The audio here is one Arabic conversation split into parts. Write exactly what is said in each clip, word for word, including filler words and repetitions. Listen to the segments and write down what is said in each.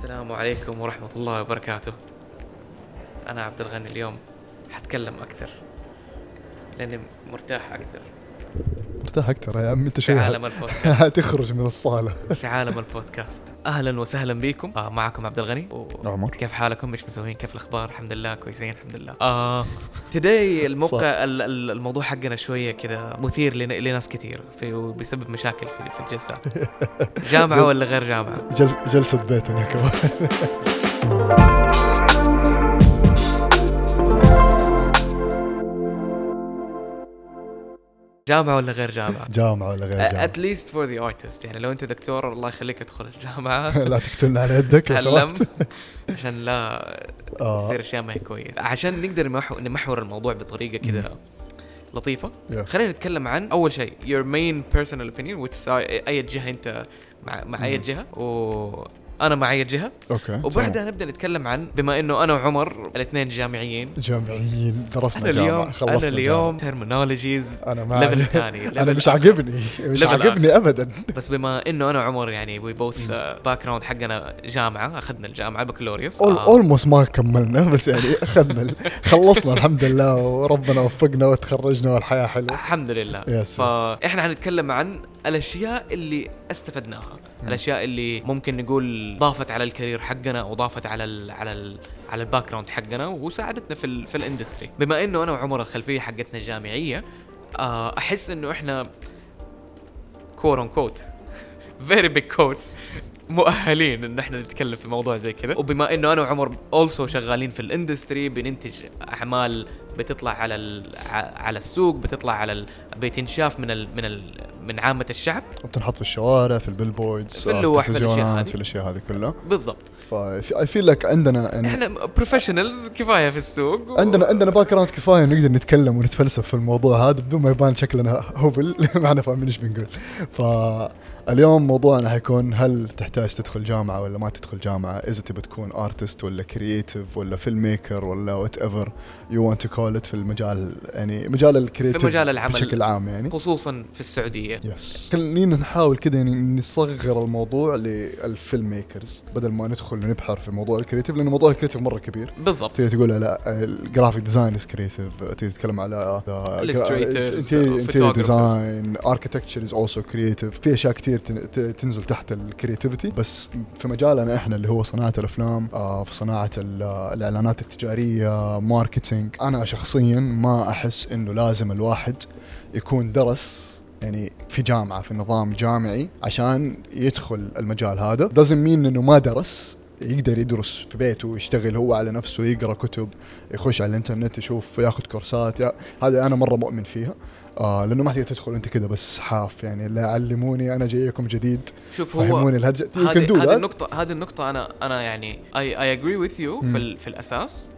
السلام عليكم ورحمة الله وبركاته. أنا عبد الغني. اليوم حتكلم أكثر لأني مرتاح أكثر مرتاح أكثر يا عم أنت في شوي عالم البودكاست. هتخرج من الصالة. في عالم البودكاست. أهلا وسهلا بكم. آه معكم عبد الغني. عمر. كيف حالكم؟ مش مسوين؟ كيف الأخبار؟ الحمد لله كويسين الحمد لله. آه تداي الموقع ال- ال- الموضوع حقنا شوية كذا مثير لن- لناس كثير في بسبب مشاكل في في الجلسات. جامعة ولا غير جامعة؟ جل جلسة بيتنا كمان. جامعة ولا غير جامعة؟ جامعة ولا غير جامعة؟ at least for the artist. يعني لو أنت دكتور الله يخليك ادخل الجامعة. لا تقتلنا على يدك لو تعلم سمحت. عشان لا آه. تصير أشياء ما هي كويس. عشان نقدر نمحو- نمحور الموضوع بطريقة كذا لطيفة. Yeah. خلينا نتكلم عن أول شيء your main personal opinion which أي جهة أنت مع مع أي جهة وأنا مع أي جهة. أوكي. وبعدها نبدأ نتكلم عن بما إنه أنا وعمر الاثنين جامعيين. جامعيين درسنا أنا جامعة اليوم خلصنا أنا اليوم جامعة. terminologies أنا معي. level ثاني. أنا مش عاجبني مش level عاجبني أبدا. بس بما إنه أنا وعمر يعني we both باك جراوند حقنا جامعة أخذنا الجامعة بكالوريوس. almost ما كملنا بس يعني أخذنا خلصنا الحمد لله وربنا وفقنا وتخرجنا والحياة حلوة الحمد لله. Yes, yes. فإحنا هنتكلم عن الأشياء اللي استفدناها، الأشياء اللي ممكن نقول ضافت على الكارير حقنا أو ضافت على ال على ال على الباك جراوند حقنا وساعدتنا في ال في الاندستري. بما إنه أنا وعمر الخلفية حقتنا جامعية، آه، أحس إنه إحنا quote unquote very big quotes مؤهلين إن إحنا نتكلم في موضوع زي كذا. وبما إنه أنا وعمر also شغالين في الاندستري بننتج أعمال بتطلع على ال على السوق، بتطلع على ال بتنشاف من ال من ال من عامة الشعب، وبتنحط في الشوارع في البيلبوردز في اللوح، في الأشياء هذه. في الأشياء هذه كلها بالضبط. فا I feel like عندنا يعني إحنا بروفيشنالز كفاية في السوق و... عندنا عندنا باك جراوند كفايه نقدر نتكلم ونتفلسف في الموضوع هذا بدون ما يبان شكلنا هبل. ما احنا فاهمين ايش بنقول. فاليوم موضوعنا حيكون هل تحتاج تدخل جامعه ولا ما تدخل جامعه، اذا تبي تكون ارتست ولا كرييتيف ولا فيلم ميكر ولا وات ايفر يو وانت تو كول ات في المجال، يعني مجال الكرييتيف في مجال العمل بشكل عام يعني خصوصا في السعودية. يس. خلينا نحاول كده يعني نصغر الموضوع للفيلم ميكرز بدل ما ندخل ونبحر في موضوع الكرييتيف، لأن موضوع الكرييتيف مرة كبير. بالضبط. تيجي تقول على الجرافيك ديزاينرز كرييتيف، تيجي تتكلم على illustrators interior design architecture is also creative. في أشياء كتير تنزل تحت الكرياتيفيتي. بس في مجالنا إحنا اللي هو صناعة الأفلام، في صناعة الإعلانات التجارية، ماركتينج، أنا شخصيا ما أحس إنه لازم الواحد يكون درس يعني في جامعة في نظام جامعي عشان يدخل المجال هذا. doesn't mean إنه ما درس، يقدر يدرس في بيته ويشتغل هو على نفسه، يقرأ كتب، يخش على الانترنت يشوف، ياخذ كورسات. هذا أنا مرة مؤمن فيها. آه لأنه ما تقدر تدخل أنت كده بس حاف يعني لا علموني أنا جايكم جديد. شوف هو هذه هذه النقطة هذه النقطة أنا أنا يعني I I agree with you في ال في الأساس.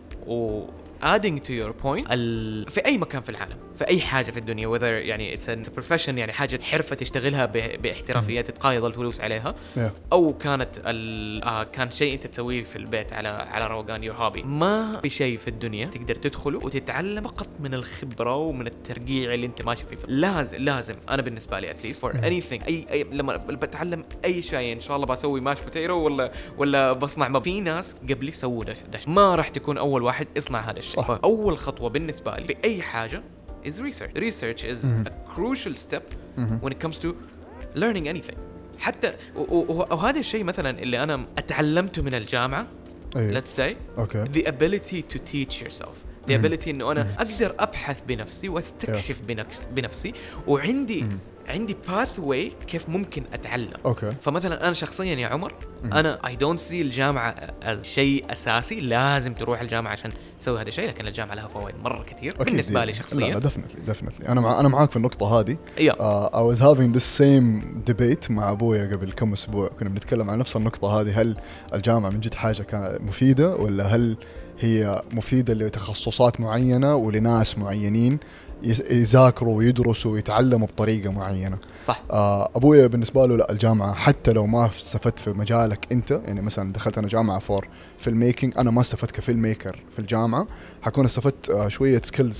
و adding to your point ال... في أي مكان في العالم في أي حاجة في الدنيا whether يعني it's a profession يعني حاجة حرفة تشتغلها ب... باحترافية تتقايض الفلوس عليها yeah. أو كانت ال... آه كان شيء أنت تسويه في البيت على على روقان your hobby. ما في شيء في الدنيا تقدر تدخله وتتعلم فقط من الخبرة ومن الترقيع اللي أنت ماشي فيه. لازم لازم أنا بالنسبة لي at least for anything أي, أي لما بتعلم أي شيء إن شاء الله بسوي ماش بوتيرو ولا ولا بصنع ما في ناس قبلي سووا ده, ده ما راح تكون أول واحد يصنع هذا الشيء. أول خطوة بالنسبة لي في أي حاجة is research. Research is mm-hmm. a crucial step mm-hmm. when it comes to learning anything. حتى وهذا الشيء مثلا اللي أنا أتعلمته من الجامعة. أيه. let's say okay. the ability to teach yourself. the mm-hmm. ability إنه أنا mm-hmm. أقدر أبحث بنفسي واستكشف yeah. بنفسي وعندي mm-hmm. عندي pathway كيف ممكن أتعلم. okay. فمثلا أنا شخصيا يا عمر mm-hmm. أنا I don't see الجامعة as شيء أساسي لازم تروح الجامعة عشان تسوي هذا الشيء، لكن الجامعة لها فوائد مرة كثير بالنسبة لي شخصيا. لا لا definitely definitely أنا مع أنا معاك في النقطة هذه. yeah. uh, I was having the same debate مع أبويا قبل كم أسبوع، كنا بنتكلم عن نفس النقطة هذه. هل الجامعة من جد حاجة كانت مفيدة ولا هل هي مفيدة لتخصصات معينة ولناس معينين يذاكروا ويدرسوا ويتعلموا بطريقة معينة. صح. آه أبويا بالنسبة له لا، الجامعة حتى لو ما استفدت في مجالك أنت، يعني مثلا دخلت أنا جامعة فور فيلم ميكينج، أنا ما استفدت كفيلم ميكر في الجامعة، حكون استفدت آه شوية سكيلز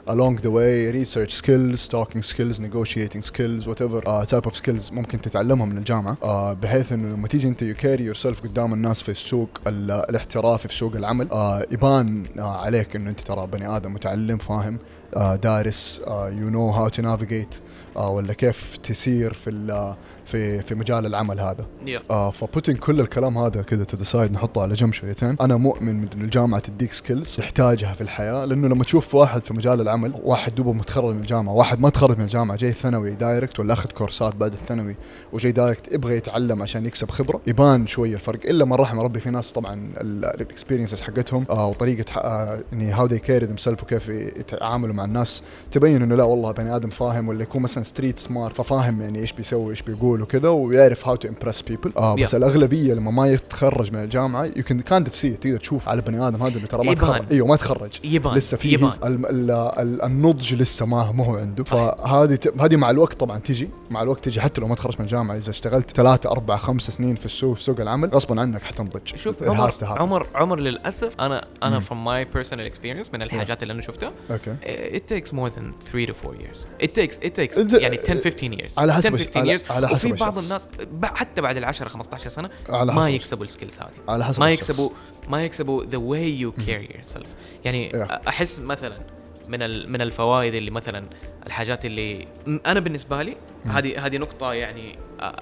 along the way research skills, talking skills, negotiating skills, whatever uh, type of skills ممكن تتعلمها من الجامعة uh, بحيث إنه لما تيجي أنت you carry yourself قدام الناس في السوق الاحترافي في سوق العمل uh, يبان uh, عليك إنه أنت ترى بني آدم متعلم فاهم uh, دارس uh, you know how to navigate uh, ولا كيف تسير في في في مجال العمل هذا. yeah. آه فبوتين كل الكلام هذا كذا تو ذا سايد نحطه على جنب شويتين. انا مؤمن من الجامعه تديك سكيلز تحتاجها في الحياه، لانه لما تشوف واحد في مجال العمل، واحد دوبه متخرج من الجامعه، واحد ما تخرج من الجامعه جاي ثانوي دايركت ولا اخذ كورسات بعد الثانوي وجاي دايركت يبغى يتعلم عشان يكسب خبره، يبان شويه الفرق. الا من رحم ربي في ناس طبعا الاكسبيرينسز حقتهم آه وطريقه آه يعني هاو ذي كير ذيم سيلف وكيف يتعاملوا مع الناس تبين انه لا والله بني ادم فاهم، ولا يكون مثلا ستريت سمارت ففاهم يعني ايش بيسوي ايش بيقول وكذا ويعرف how to impress people. آه بس yeah. الأغلبية لما ما يتخرج من الجامعة you can kind of see تقدر تشوف على بني آدم هذا اللي ترى ما تخرج ايوه ما تخرج يبان. لسه فيه ال ال ال النضج لسه ما ما هو عنده. فهذه هذه مع الوقت طبعا تيجي مع الوقت تيجي حتى لو ما تخرج من الجامعة. إذا اشتغلت ثلاثة أربعة خمسة سنين في السوق في سوق العمل غصبا عنك حتنضج. شوف عمر عمر عمر للأسف أنا أنا from my personal experience من الحاجات yeah. اللي أنا شفتها okay. it takes more than three to four years. it takes it takes يعني ten fifteen years على حسب ten fifteen years. على حسب وفي بعض الناس حتى بعد العشرة خمستاشر سنة ما ما يكسبوا السكيلز هذه، على حسب ما يكسبوا ما يكسبوا the way you carry yourself. يعني yeah. أحس مثلا من من الفوائد اللي مثلا الحاجات اللي أنا بالنسبة لي هذه هذه نقطة يعني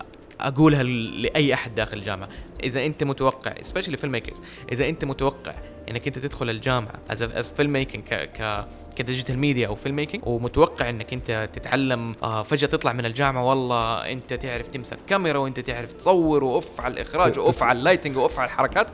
أقولها لأي أحد داخل الجامعة. إذا أنت متوقع especially filmmakers إذا أنت متوقع إنك أنت تدخل الجامعة as a, as filmmaking ك ك كديجيتال ميديا أو filmmaking ومتوقع إنك أنت تتعلم آه فجأة تطلع من الجامعة والله أنت تعرف تمسك كاميرا وأنت تعرف تصور وأوف على الإخراج وأوف على اللايتنج وأوف على الحركات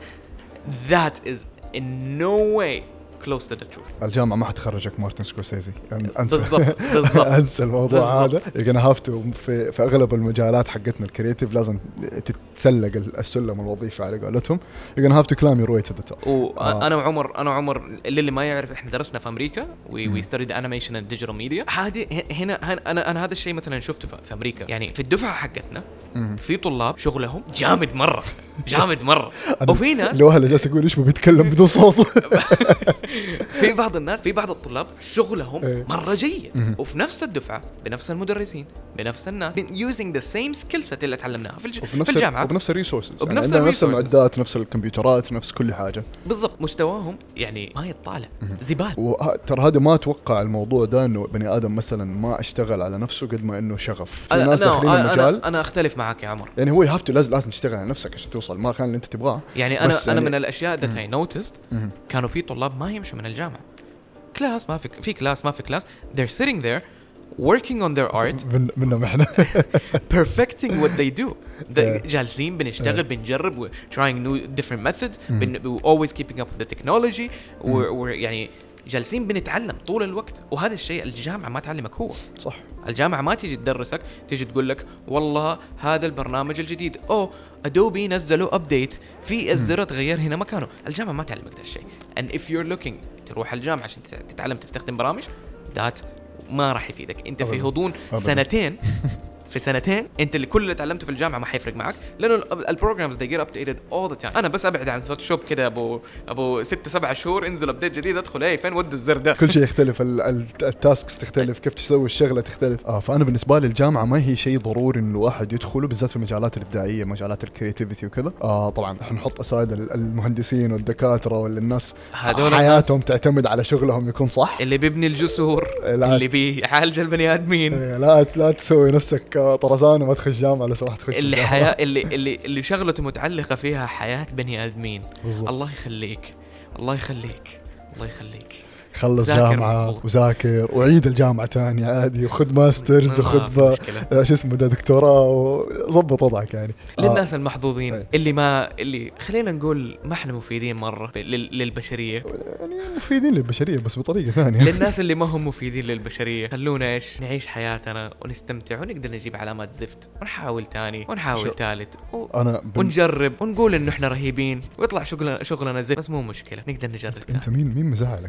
that is in no way close to the truth. الجامعة ما حتخرجك مارتن سكورسيزي. انسى بالضبط بالضبط انسى الموضوع هذا. you're gonna have to في في اغلب المجالات حقتنا الكرياتيف لازم تتسلق السلم الوظيفي على قولتهم. you're gonna have to climb your way to the top. وانا وعمر انا وعمر اللي ما يعرف احنا درسنا في امريكا we we studied animation and digital media. هذه هنا انا انا هذا الشيء مثلا شفته في امريكا. يعني في الدفعة حقتنا في طلاب شغلهم جامد مرة جامد مرة وفي ناس لو هلا جالس يقول ايش بيتكلم بدون صوت. في بعض الناس في بعض الطلاب شغلهم مرة جيد وفي نفس الدفعة بنفس المدرسين بنفس الناس using the same skill set اللي تعلمناها في, الج... في الجامعة وبنفس الريسورسز وبنفس يعني نفس المعدات نفس الكمبيوترات نفس كل حاجة بالضبط. مستواهم يعني ما يطالع زبال. وترى هذا ما أتوقع الموضوع ده إنه بني آدم مثلا ما اشتغل على نفسه قد ما إنه شغف. في أنا ناس داخلين المجال أنا, أنا أختلف معك يا عمر. يعني هو يهفتو لازم لازم تشتغل على نفسك عشان توصل ما كان اللي أنت تبغاه. يعني أنا أنا يعني من الأشياء that I noticed كانوا في طلاب ما يمشوا من الجامعة كلاس ما في في كلاس ما في كلاس they're sitting there working on their art من منهم احنا perfecting what they do. جالسين بنشتغل بنجرب we're trying new different methods we're always keeping up with the technology we're, we're يعني جالسين بنتعلم طول الوقت. وهذا الشيء الجامعة ما تعلمك هو صح. الجامعة ما تيجي تدرسك تيجي تقول لك والله هذا البرنامج الجديد أو أدوبي نزلوا أبديت في الزر تغير هنا مكانه. الجامعة ما تعلمك هذا الشيء. and if you're looking تروح الجامعة عشان تتعلم تستخدم برامج ذات ما راح يفيدك. انت في هضون سنتين في سنتين انت اللي كل اللي تعلمته في الجامعه ما حيفرق معك لانه البروجرامز they get updated all the time. انا بس ابعد عن فوتوشوب كده ابو ابو ستة سبعة شهور انزل ابديت جديد ادخل ايه فين ودوا الزر ده. كل شيء يختلف التاسكس تختلف كيف تسوي الشغله تختلف. اه فانا بالنسبه لي الجامعه ما هي شيء ضروري انه الواحد يدخله بالذات في المجالات الابداعيه مجالات الكرياتيفيتي وكذا. اه طبعا احنا نحط اسايد المهندسين والدكاتره ولا الناس حياتهم الناس تعتمد على شغلهم يكون صح. اللي بيبني الجسور اللي بيعالج البني ادمين لا لا تسوي نفسك طرزان وما تخش جامعة لو سمحت تخش اللي حياة اللي اللي اللي شغلته متعلقة فيها حياة بني آدمين. الله يخليك الله يخليك الله يخليك خلص جامعة وذاكر وعيد الجامعة تاني عادي وخذ ماسترز وخذ شو اسمه ده دكتوراه وظبط وضعك. يعني للناس آه. المحظوظين هي. اللي ما اللي خلينا نقول ما احنا مفيدين مرة للبشرية. يعني مفيدين للبشرية بس بطريقة ثانية. للناس اللي ما هم مفيدين للبشرية خلونا ايش نعيش حياتنا ونستمتع ونقدر نجيب علامات زفت ونحاول تاني ونحاول ثالث و... أنا بن... ونجرب ونقول انه احنا رهيبين ويطلع شغلنا شغلنا زفت بس مو مشكلة نقدر نجرب. انت مين مين مزعلك يا ابني؟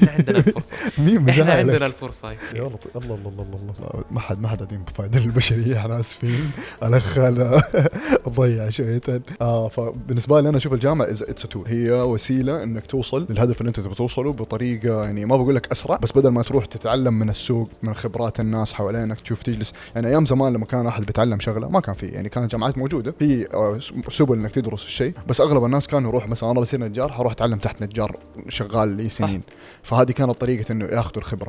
احنا عندنا الفرصه مين احنا مزعلك؟ عندنا الفرصه هاي. يا الله الله الله الله الله ما حد ما حد قاعدين بفائدة البشرية، احنا اسفين. الاخ انا ضيع شوية. اه فبالنسبة لي انا اشوف الجامعة اتس تول، هي وسيلة انك توصل للهدف اللي انت تبغى توصله بطريقة يعني ما بقول لك اسرع، بس بدل ما تروح تتعلم من السوق من خبرات الناس حوالينك تشوف تجلس. يعني ايام زمان لما كان احد بيتعلم شغلة ما كان في، يعني كانت جامعات موجودة في آه، سبل انك تدرس الشيء، بس اغلب الناس كانوا يروح مثلا انا بصير نجار حروح اتعلم تحت نجار شغال لي سنين، فهذه كانت طريقة انه ياخذوا الخبرة.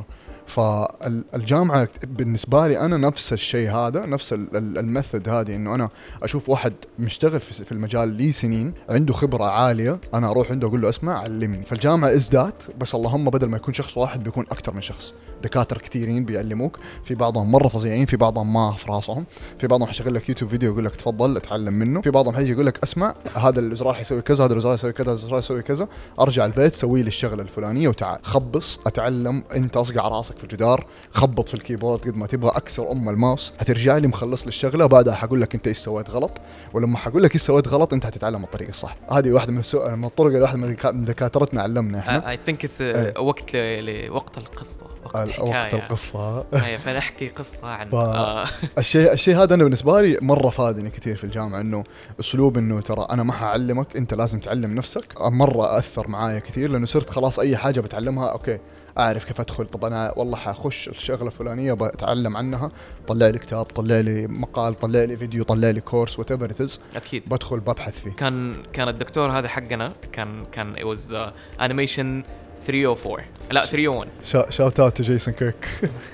فالجامعة بالنسبة لي أنا نفس الشيء هذا، نفس الميثود هذه، إنه أنا أشوف واحد مشتغل في المجال لي سنين عنده خبرة عالية، أنا أروح عنده أقول له أسمع علمني. فالجامعة إزداد، بس اللهم بدل ما يكون شخص واحد بيكون أكتر من شخص، دكاترة كثيرين بيعلموك، في بعضهم مرة فظيعين، في بعضهم ما في راسهم، في بعضهم حيشغل لك يوتيوب فيديو يقول لك تفضل اتعلم منه، في بعضهم حيجي يقول لك اسمع هذا الزرار حيسوي كذا، هذا الزرار يسوي كذا، هذا الزرار يسوي كذا، ارجع البيت سوي لي الشغله الفلانيه وتعال خبص اتعلم، انت اصقع راسك في الجدار، خبط في الكيبورد قد ما تبغى، اكسر ام الماوس، حترجع لي مخلص لي الشغله، بعدها حقول لك انت ايش سويت غلط، ولما حقول لك ايش سويت غلط انت حتتعلم الطريقه الصح. هذه واحده من السؤال من الطرق اللي واحد من دكاترتنا علمنا احنا. اي ثينك اتس وقت لوقت القصه، وقت حكايه وقت القصه. اي فنحكي قصه عن ف... الشيء الشيء هذا انا بالنسبه لي مره فادني كثير في الجامعه، انه اسلوب انه ترى انا ما حعلمك، انت لازم تعلم نفسك، مره اثر معايا كثير، لانه صرت خلاص اي حاجه بتعلمها اوكي اعرف كيف ادخل. طب انا والله حخش الشغله الفلانيه بتعلم عنها، طلع لي كتاب، طلع لي مقال، طلع لي فيديو، طلع لي كورس وات ايفر ات از، اكيد بدخل ببحث فيه. كان كان الدكتور هذا حقنا كان كان it was uh, animation ثلاثمية وأربعة لا ثلاثمية وواحد شاوت اوت تو جيسون كيرك.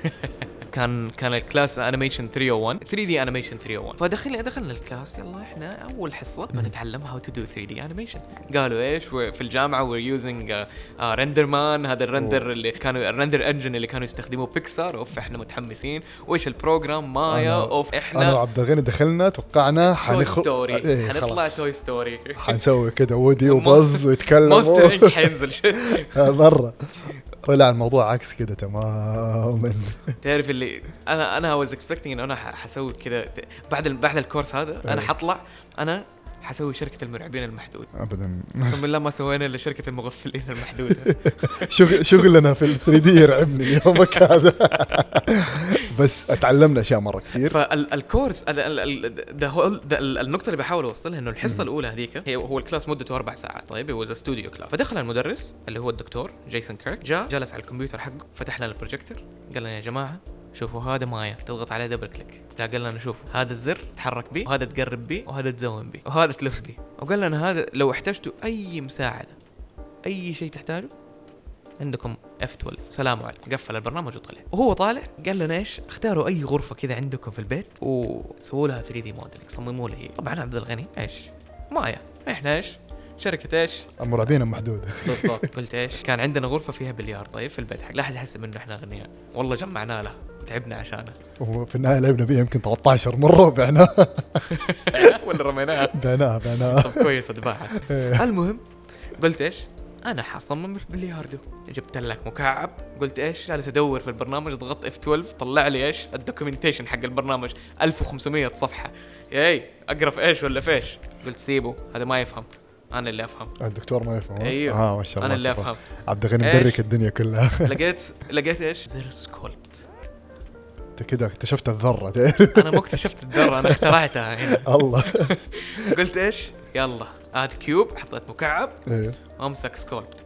كان كان الكلاس انيميشن ثلاثمية وواحد ثري دي انيميشن ثلاثمية وواحد، فدخلنا دخلنا الكلاس يلا احنا اول حصه بنتعلم هاو تو دو ثري دي انيميشن. قالوا ايش في الجامعه وير يوزنج رندر مان، هذا الرندر اللي كانوا الرندر انجن اللي كانوا يستخدموه بيكسار، اوف احنا متحمسين، وايش البروجرام مايا، اوف احنا انا وعبد الغني دخلنا توقعنا حنخ... إيه حنطلع توي ستوري، حنسوي كده وودي وبز ويتكلم ماستر انك حينزل شيء مره. طلع الموضوع عكس كده تماما. تعرف اللي انا انا واز اكسبكتينج انه انا حسوي كذا بعد بعد الكورس هذا، انا حطلع انا حسوي شركة المرعبين المحدود. ابدا قسم بالله ما سوينا الا شركة المغفلين المحدودة. شغل شغلنا في الثري دي يرعبني اليوم هذا. بس اتعلمنا اشياء مره كثير. فالكورس النقطة اللي بحاول اوصلها انه الحصة الاولى هذيك هي هو الكلاس مدته اربع ساعات، طيب هو استوديو كلاس. فدخل المدرس اللي هو الدكتور جيسون كيرك، جاء جلس على الكمبيوتر حقه، فتح لنا البروجيكتور، قال لنا يا جماعة شوفوا هذا مايا، تضغط عليه دبل كليك، جاء قال لنا شوفوا هذا الزر تحرك به، وهذا تقرب به، وهذا تزوم به، وهذا تلف به. وقال لنا هذا لو احتجتوا اي مساعدة اي شيء تحتاجه عندكم إف اثنا عشر، سلام عليكم. قفل البرنامج وطلع. وهو طالع قال لنا ايش، اختاروا اي غرفة كذا عندكم في البيت وسووا لها ثري دي موديلنج، صمموا لها. طبعا عبد الغني ايش مايا، احنا ايش شركة ايش المرعبين المحدودة. بالضبط. قلت ايش كان عندنا غرفة فيها بليار طيب في البيت حق، لا احد يحسب انه احنا غنيان، والله جمعنا له تعبنا عشانه، وفي النهاية لعبنا بيه يمكن ثلاثة عشر مرة وبعناها. ولا رميناها بعناها بعناها طب كويس اتباعها. المهم قلت ايش انا حصمم بلياردو، جبت لك مكعب، قلت ايش جالس ادور في البرنامج، ضغطت إف اثنا عشر طلع لي ايش الدوكيومنتيشن حق البرنامج ألف وخمسمية صفحة. اي اقرا في ايش ولا فيش، قلت سيبه هذا ما يفهم، انا اللي افهم. الدكتور ما يفهم. ايوه اه ما شاء الله انا اللي افهم. عبد الغني مدرك الدنيا كلها. لقيت لقيت ايش زر سكولبت. انت كده اكتشفت الذره. انا ما اكتشفت الذره، انا اخترعتها هنا. الله. قلت ايش يلا اد كيوب، حطيت مكعب ايه وامسك سكولبت.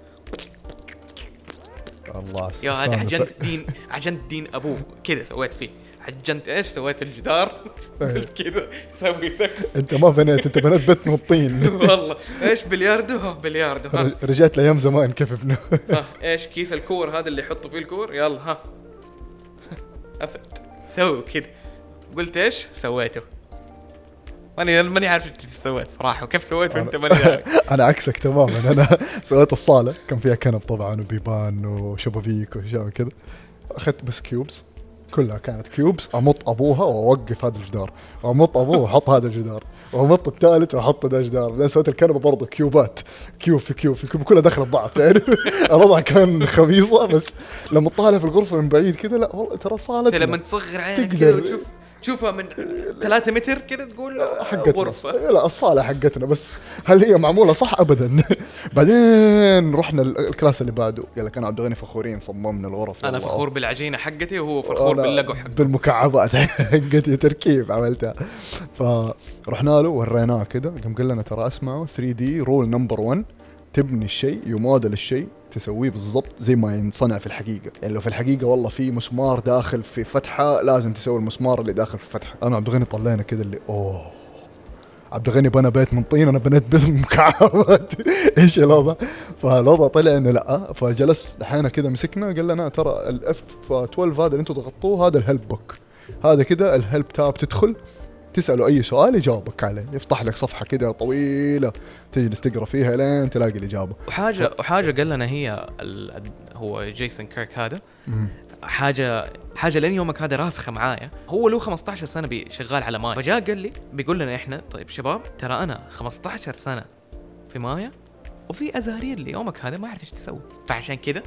الله يا هذا عجنت دين عجنت دين ابوه كذا سويت فيه، عجنت ايش سويت الجدار. قلت كذا سوي سقف. انت ما بنيت، انت بنيت بيت من الطين. والله ايش بلياردو ها بلياردو ها. رجعت لايام زمان كيف ابنه. ها ايش كيس الكور هذا اللي يحطوا فيه الكور، يلا ها افت سوي كذا. قلت ايش سويته، ماني ماني عارف ايش سويت صراحه، وكيف سويته انت ماني عارف. انا عكسك تماما، انا سويت الصاله كان فيها كنب طبعا وبيبان وشبابيك واشياء كذا، اخذت بس كيوبس كلها كانت كيوبس، امط ابوها واوقف هذا الجدار، وامط ابوه واحط هذا الجدار، وامط الثالث واحط هذا الجدار. بعدين سويت الكنبه برضه كيوبات، كيوب في كيوب في كيوب كلها داخله ببعض يعني. الوضع كان خبيصه، بس لما تطالع في الغرفه من بعيد كذا لا والله ترى صاله لما تصغر عينك كذا وتشوف تشوفها من ثلاثة متر كده تقول غرفة. لا الصالة حقتنا، بس هل هي معمولة صح؟ أبدا. بعدين رحنا الكلاس اللي بعده، قال لك أنا عبد الغني فخورين صممنا الغرف. أنا فخور بالعجينة حقتي وهو فخور باللقو حقه، بالمكعبات حقتي تركيب عملتها. فرحنا له وريناه كده، قام قال لنا ترى اسمعوا ثري دي رول نمبر ون، تبني الشيء يموديل الشيء تسويه بالضبط زي ما ينصنع في الحقيقة. يعني لو في الحقيقة والله في مسمار داخل في فتحة لازم تسوي المسمار اللي داخل في فتحة. أنا عبد الغني طلعنا كده اللي أوه عبد الغني بنى بيت من طين، أنا بنيت بيت من مكعبات. إيش الوضع؟ فالوضع طلع إنه لأ. فجلس دحين كده مسكنا قال لنا ترى الاف اثناشر هذا اللي أنتوا ضغطوه هذا الهيلب بوك، هذا كده الهيلب تاب، تدخل تسأله أي سؤال يجاوبك عليه، يفتح لك صفحة كده طويلة تجلس تقرأ فيها لين تلاقي الإجابة. وحاجة ف... وحاجة قال لنا هي ال... هو جيسون كيرك هذا م- حاجة حاجة لين يومك هذا راسخة معايا. هو له خمسة عشر سنة شغال على مايا، فجاء قال لي بيقول لنا إحنا طيب شباب ترى أنا خمسة عشر سنة في مايا وفي أزارير ليومك هذا ما أعرف إيش تسوي، فعشان كده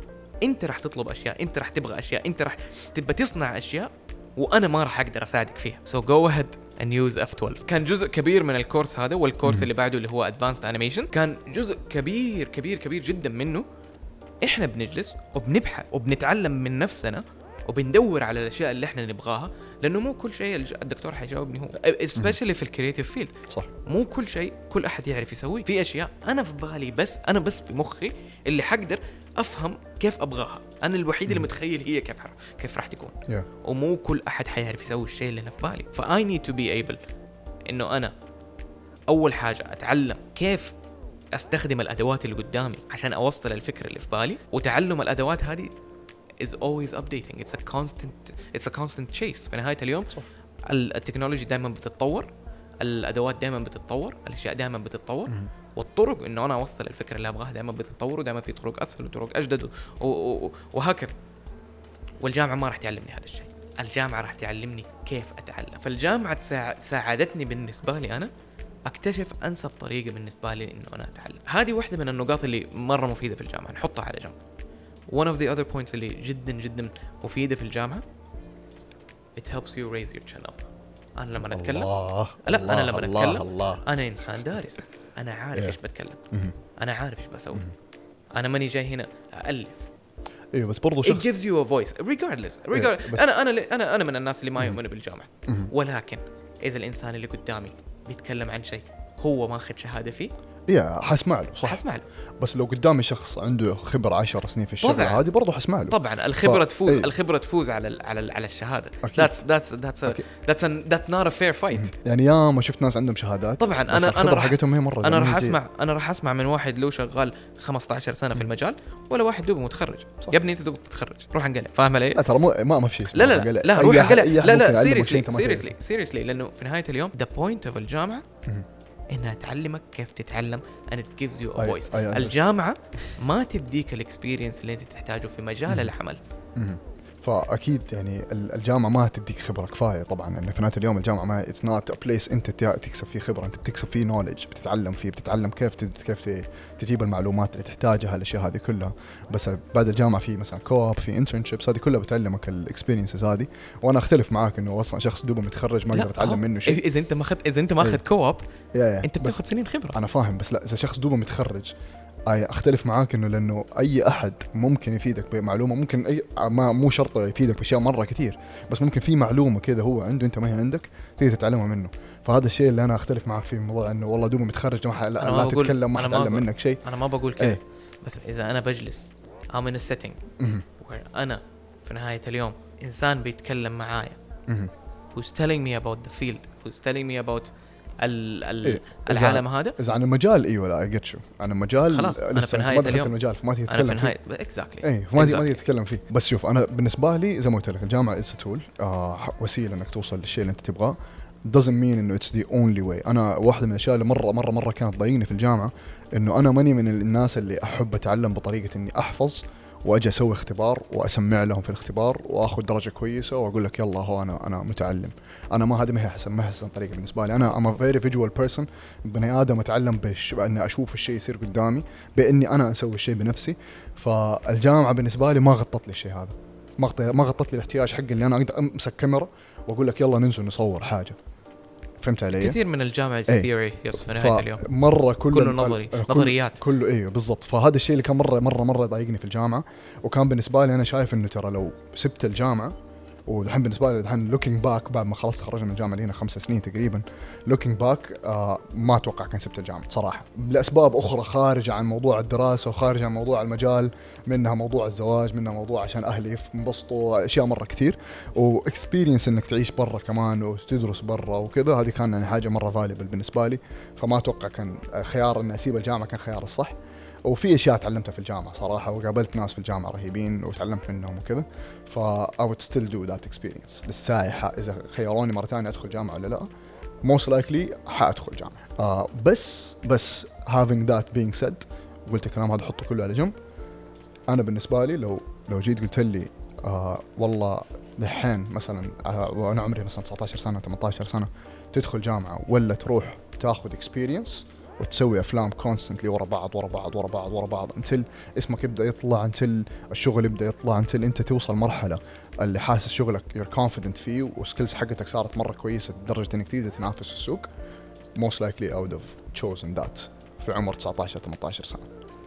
أنت راح تطلب أشياء، أنت راح تبغى أشياء، أنت راح تبى تصنع أشياء وأنا ما راح أقدر أساعدك فيها. so go ahead and use إف اثنا عشر. كان جزء كبير من الكورس هذا، والكورس م- اللي بعده اللي هو advanced animation كان جزء كبير كبير كبير جدا منه إحنا بنجلس وبنبحث وبنتعلم من نفسنا وبندور على الأشياء اللي إحنا نبغاها، لأنه مو كل شيء الدكتور حيجاوبني هو especially في الكرياتيف فيلد. صح. مو كل شيء كل أحد يعرف يسوي. في أشياء أنا في بالي بس أنا بس في مخي اللي حقدر أفهم كيف أبغاها، أنا الوحيد اللي متخيل هي كيف كيف راح تكون. yeah. ومو كل أحد حيعرف يسوي الشيء اللي أنا في بالي. فI need to be able إنه أنا أول حاجة أتعلم كيف أستخدم الأدوات اللي قدامي عشان أوصل الفكرة اللي في بالي، وتعلم الأدوات هذه is always updating. it's a constant it's a constant chase. في نهاية اليوم صح. التكنولوجيا دائما بتتطور، الأدوات دائما بتتطور، الأشياء دائما بتتطور م- والطرق إنه أنا أوصل الفكرة اللي أبغاها دائما بتتطور، ودائما في طرق أسهل وطرق أجدد وهكذا. والجامعة ما راح تعلمني هذا الشيء، الجامعة راح تعلمني كيف أتعلم. فالجامعة ساعدتني بالنسبة لي أنا أكتشف أنسب طريقة بالنسبة لي إنه أنا أتعلم. هذه واحدة من النقاط اللي مرة مفيدة في الجامعة، نحطها على جنب. one of the other points اللي جدا جدا مفيدة في الجامعة it helps you raise your chin up. أنا لما أتكلم الله لا الله أنا لما الله أتكلم الله. أنا إنسان دارس، أنا عارف إيش بتكلم، أنا عارف إيش بسوي، أنا ماني جاي هنا أألف. ايوه بس برضو شخص it gives you a voice regardless, regardless. yeah, أنا أنا أنا أنا من الناس اللي ما يؤمنوا بالجامعة، ولكن إذا الإنسان اللي قدامي بيتكلم عن شيء هو ما أخذ شهادة فيه يا حسمع له صح، حسمع له. بس لو قدامي شخص عنده خبرة عشر سنين في الشغل هذه برضه حسمع له. طبعا الخبرة ف... تفوز ايه. الخبرة تفوز على ال... على ال... على الشهادة. أكيد. that's that's that's a... that's a... that's not a fair fight. يعني يا ما شفت ناس عندهم شهادات طبعا انا انا انا حقتهم هي مرة انا راح اسمع انا راح اسمع من واحد له شغال خمسة عشر سنة في المجال، ولا واحد دوبه متخرج. يا ابني انت دوبك متخرج، روح انقلع. فاهم علي؟ لا ترى مو ما ما في شيء. لا لا لا, لا روح انقلع. لا لا سيريسلي سيريسلي سيريسلي لانه في نهاية اليوم the point of الجامعة إنها تعلمك كيف تتعلم and it gives you a voice. أي أي الجامعة ما تديك الاكسبيرينس اللي انت تحتاجه في مجال العمل. فأكيد يعني الجامعة ما تديك خبرة كفاية طبعا، إنه في نهاية اليوم الجامعة ما it's not a place أنت تكسب فيه خبرة، أنت بتكسب فيه knowledge، بتتعلم فيه، بتتعلم كيف كيف تجيب المعلومات اللي تحتاجها، الأشياء هذه كلها. بس بعد الجامعة في مثلا كوب، في internships، هذه كلها بتعلمك الاكسبيرينسز هذه. وأنا أختلف معاك إنه أصلا شخص دوبه متخرج ما يقدر يتعلم منه شيء. إذا أنت ما أخذ إذا أنت ما أخذ كوب أنت بتاخذ سنين خبرة. أنا فاهم، بس لا إذا شخص دوبه متخرج أختلف معاك إنه لأنه أي أحد ممكن يفيدك بمعلومة، ممكن أي ما مو شرط يفيدك بأشياء مرة كتير، بس ممكن في معلومة كده هو عنده أنت ما هي عندك تقدر تتعلمها منه. فهذا الشيء اللي أنا أختلف معاك فيه، موضوع إنه والله دوبه متخرج ما, لا, لا تتكلم ما تتعلم منك شيء. أنا ما بقول كده. ايه؟ بس إذا أنا بجلس I'm in a setting where أنا في نهاية اليوم إنسان بيتكلم معايا who's telling me about the field, who's telling me about ال ال إيه؟ العالم هذا. إذا عن المجال أيوة لا أجت شو عن المجال خلاص أنا في نهاية اليوم المجال فما تيجي تتكلم فيه. exactly. إيه فما تيجي exactly. تتكلم فيه. بس شوف أنا بالنسبة لي زي ما قلت لك الجامعة is a tool، آه وسيلة إنك توصل للشيء اللي أنت تبغاه. doesn't mean إنه it's the only way. أنا واحدة من الأشياء اللي مرة مرة مرة كانت ضايقني في الجامعة إنه أنا ماني من الناس اللي أحب أتعلم بطريقة إني أحفظ واجي اسوي اختبار واسمع لهم في الاختبار واخذ درجه كويسه واقول لك يلا هو انا انا متعلم. انا ما هذه ما هي احسن ما هي احسن طريقه بالنسبه لي. انا ام فيري فيجوال بيرسون، بني ادم اتعلم بش باني اشوف الشيء يصير قدامي، باني انا اسوي الشيء بنفسي. فالجامعه بالنسبه لي ما غطت لي الشيء هذا. ما غطي- ما غطت لي الاحتياج حقي اللي انا اقدر امسك كاميرا واقول لك يلا ننزل نصور حاجه. فهمت علي؟ كثير من الجامعة إيه. ثيوري يص في نهاية اليوم مرة كل كله نظري، كل نظريات. كله ايه بالضبط. فهذا الشيء اللي كان مرة مرة مرة يضايقني في الجامعة. وكان بالنسبة لي انا شايف انه ترى لو سبت الجامعة، والحين بالنسبة لي الحين لوكينج باك بعد ما خلصت تخرجنا من الجامعة اللي هنا خمس سنين تقريبا، لوكينج باك آه ما اتوقع كان سبت الجامعة صراحة لأسباب أخرى خارجة عن موضوع الدراسة وخارجة عن موضوع المجال، منها موضوع الزواج، منها موضوع عشان أهلي ينبسطوا، أشياء مرة كثير، وإكسبيرينس إنك تعيش برا كمان وتدرس برا وكذا. هذه كان يعني حاجة مرة فاليبل بالنسبة لي. فما أتوقع كان خيار إني أسيب الجامعة كان خيار الصح. وفي اشياء تعلمتها في الجامعه صراحه، وقابلت ناس في الجامعه رهيبين وتعلمت منهم وكذا. ف I would still do that experience للساعه. اذا خيروني مره ثانيه ادخل جامعه ولا لا، most likely حادخل جامعه. آه بس بس having that being said، قلت الكلام هذا حطه كله على جنب. انا بالنسبه لي لو لو جيت قلت لي آه والله دحين مثلا آه وانا عمري مثلا تسعة عشر سنه ثمانية عشر سنه تدخل جامعه ولا تروح تاخذ experience وتسوي افلام كونستنتلي ورا بعض ورا بعض ورا بعض ورا بعض انتل اسمك يبدا يطلع، انتل الشغل يبدا يطلع، انتل انت توصل مرحله اللي حاسس شغلك يور كونفيدنت فيه وسكيلز حقتك صارت مره كويسه لدرجه انك تقدر تنافس في السوق. most likely I would have chosen that في عمر تسعة عشر ثمانية عشر سنه.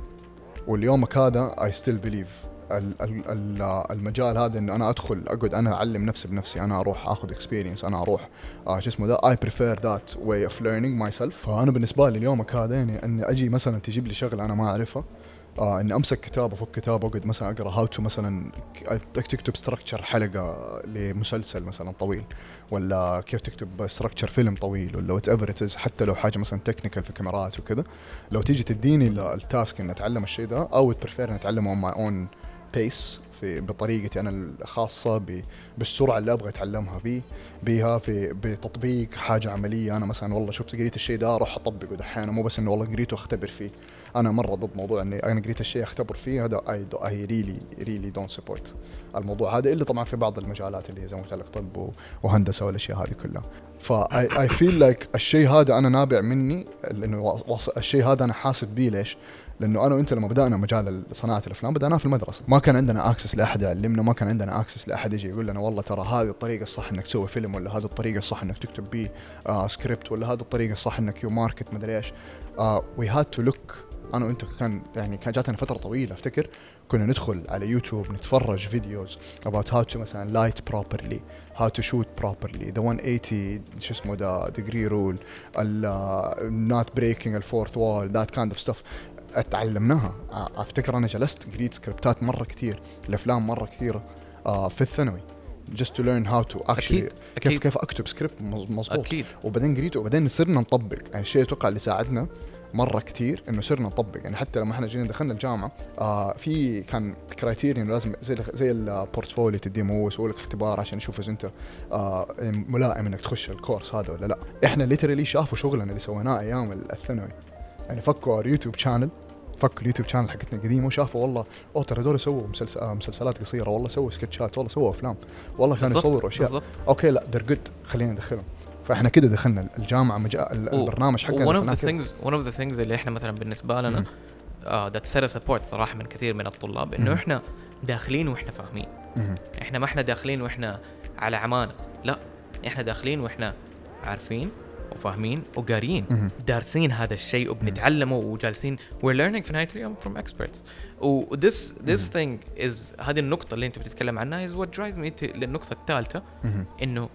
واليومك هذا I still believe ال ال المجال هذا انه انا ادخل اقعد انا اعلم نفسي بنفسي، انا اروح اخذ اكسبيرينس، انا اروح آه شو اسمه ذا I prefer that way of learning myself. فانا بالنسبه لي اليومك هذا يعني اني اجي مثلا تجيب لي شغله انا ما اعرفها، آه اني امسك كتاب افك كتاب اقعد مثلا اقرا هاو تو مثلا تكتب ستراكشر حلقه لمسلسل مثلا طويل، ولا كيف تكتب ستراكشر فيلم طويل، ولا وات ايفر ات از، حتى لو حاجه مثلا تكنيكال في كاميرات وكذا. لو تيجي تديني التاسك ان اتعلم الشيء ده او بريفير ان اتعلمه اون ماي اون بيس في بطريقتي انا الخاصه بالسرعه اللي ابغى اتعلمها بي بيها في بتطبيق حاجه عمليه. انا مثلا والله شفت قريت الشيء ده اروح اطبقه دحين، مو بس انه والله قريته اختبر فيه. انا مره ضد موضوع اني انا قريت الشيء اختبر فيه، هذا اي اي ريلي ريلي دونت سبورت الموضوع هذا، الا طبعا في بعض المجالات اللي زي ما قلت لك طب وهندسه والاشياء هذه كلها. فاي اي فيل لايك الشيء هذا انا نابع مني، لانه الشيء هذا انا حاسب بيه. ليش؟ لانه انا وانت لما بدانا مجال صناعه الافلام بدأناه في المدرسه، ما كان عندنا اكسس لاحد يعلمنا، ما كان عندنا اكسس لاحد يجي يقول لنا والله ترى هذه الطريقه الصح انك تسوي فيلم، ولا هذه الطريقه الصح انك تكتب بيه آه سكريبت، ولا هذه الطريقه الصح انك يو ماركت مدري ايش. وي هاد تو لوك. انا وانت كان يعني كان جاتنا فتره طويله افتكر كنا ندخل على يوتيوب نتفرج فيديوز about how to مثلا light properly, how to shoot properly, the one eighty شو اسمه ده degree rule, ال not breaking the fourth wall, that kind of stuff. اتعلمناها. افتكر انا جلست قريت سكريبتات مره كثير الافلام مره كثيره آه في الثانوي just to learn how to actually أكيد. كيف أكيد. كيف اكتب سكريبت مظبوط. أكيد. وبعدين قريته وبعدين صرنا نطبق. يعني الشيء اتوقع اللي ساعدنا مره كثير انه صرنا نطبق. يعني حتى لما احنا جينا دخلنا الجامعه آه في كان كرايتيريا لازم زي زي البورتفوليو تديم، هو يسوي لك اختبار عشان يشوف اذا انت آه ملائم انك تخش الكورس هذا ولا لا. احنا ليترالي شافوا شغلنا اللي سويناه ايام الثانوي، يعني فكوا اليوتيوب شانل فكوا اليوتيوب شانل حقتنا القديمه وشافوا والله اوه ترى هذول سووا مسلسل آه مسلسلات قصيره، والله سووا سكتشات، والله سووا افلام، والله كانوا يصوروا اشياء بالزبط. اوكي لا they're good، خلينا ندخلهم. فاحنا كده دخلنا الجامعه مجا... البرنامج حقنا. one of the things one of the things اللي احنا مثلا بالنسبه لنا uh, that set us apart صراحه من كثير من الطلاب انه احنا داخلين واحنا فاهمين. احنا ما احنا داخلين واحنا على عمانه، لا احنا داخلين واحنا عارفين وفاهمين وقاريين دارسين هذا الشيء وبنتعلمه وجالسين we're learning في نهاية اليوم from experts. و this this thing is هذه النقطة اللي انت بتتكلم عنها is what drives me to للنقطة الثالثة انه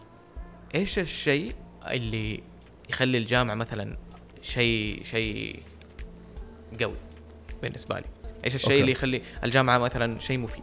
ايش الشيء اللي يخلي الجامعة مثلا شيء شيء قوي بالنسبة لي؟ ايش الشيء okay. اللي يخلي الجامعة مثلا شيء مفيد؟